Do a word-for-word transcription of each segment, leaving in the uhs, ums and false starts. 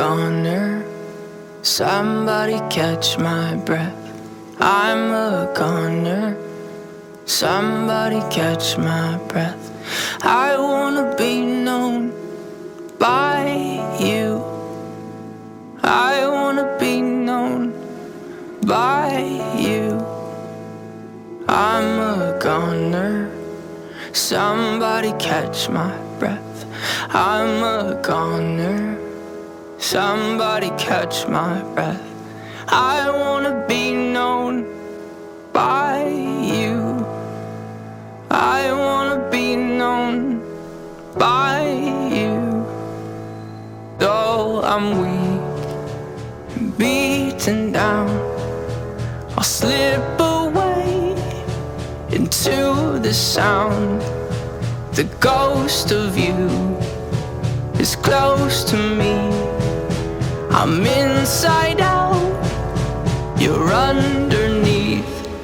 goner. Somebody catch my breath. I'm a goner. Somebody catch my breath. I wanna be known by you. I wanna be known by you. I'm a goner. Somebody catch my breath. I'm a goner. Somebody catch my breath. I wanna be known by you. I wanna be known by you. Though I'm weak, beaten down, I'll slip away into the sound. The ghost of you is close to me. I'm inside out, you're underneath.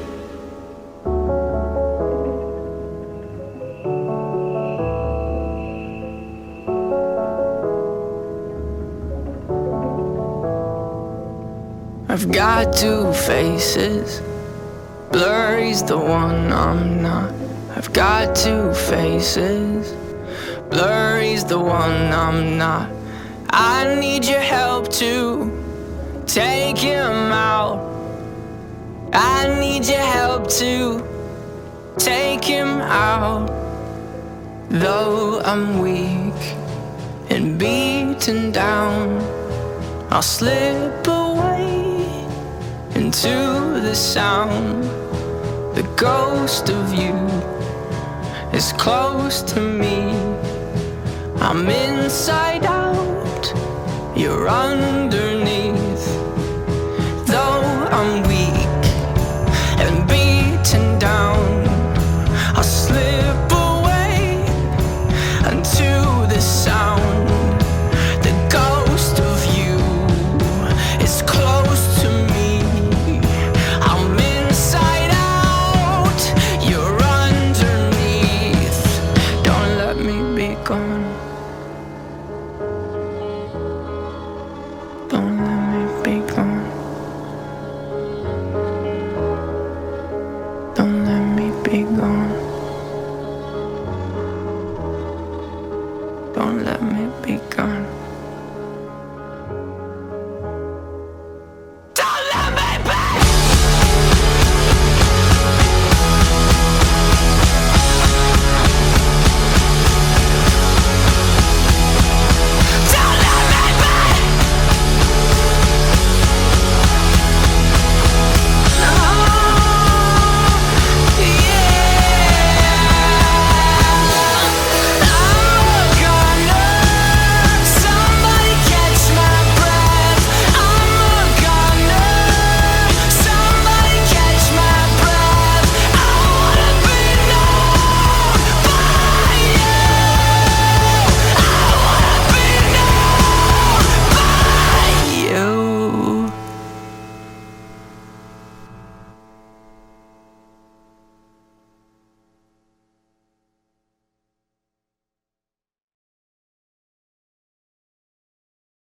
I've got two faces, blurry's the one I'm not. I've got two faces, blurry's the one I'm not. I need your help to take him out. I need your help to take him out. Though I'm weak and beaten down, I'll slip away into the sound. The ghost of you is close to me. I'm inside out, you're under.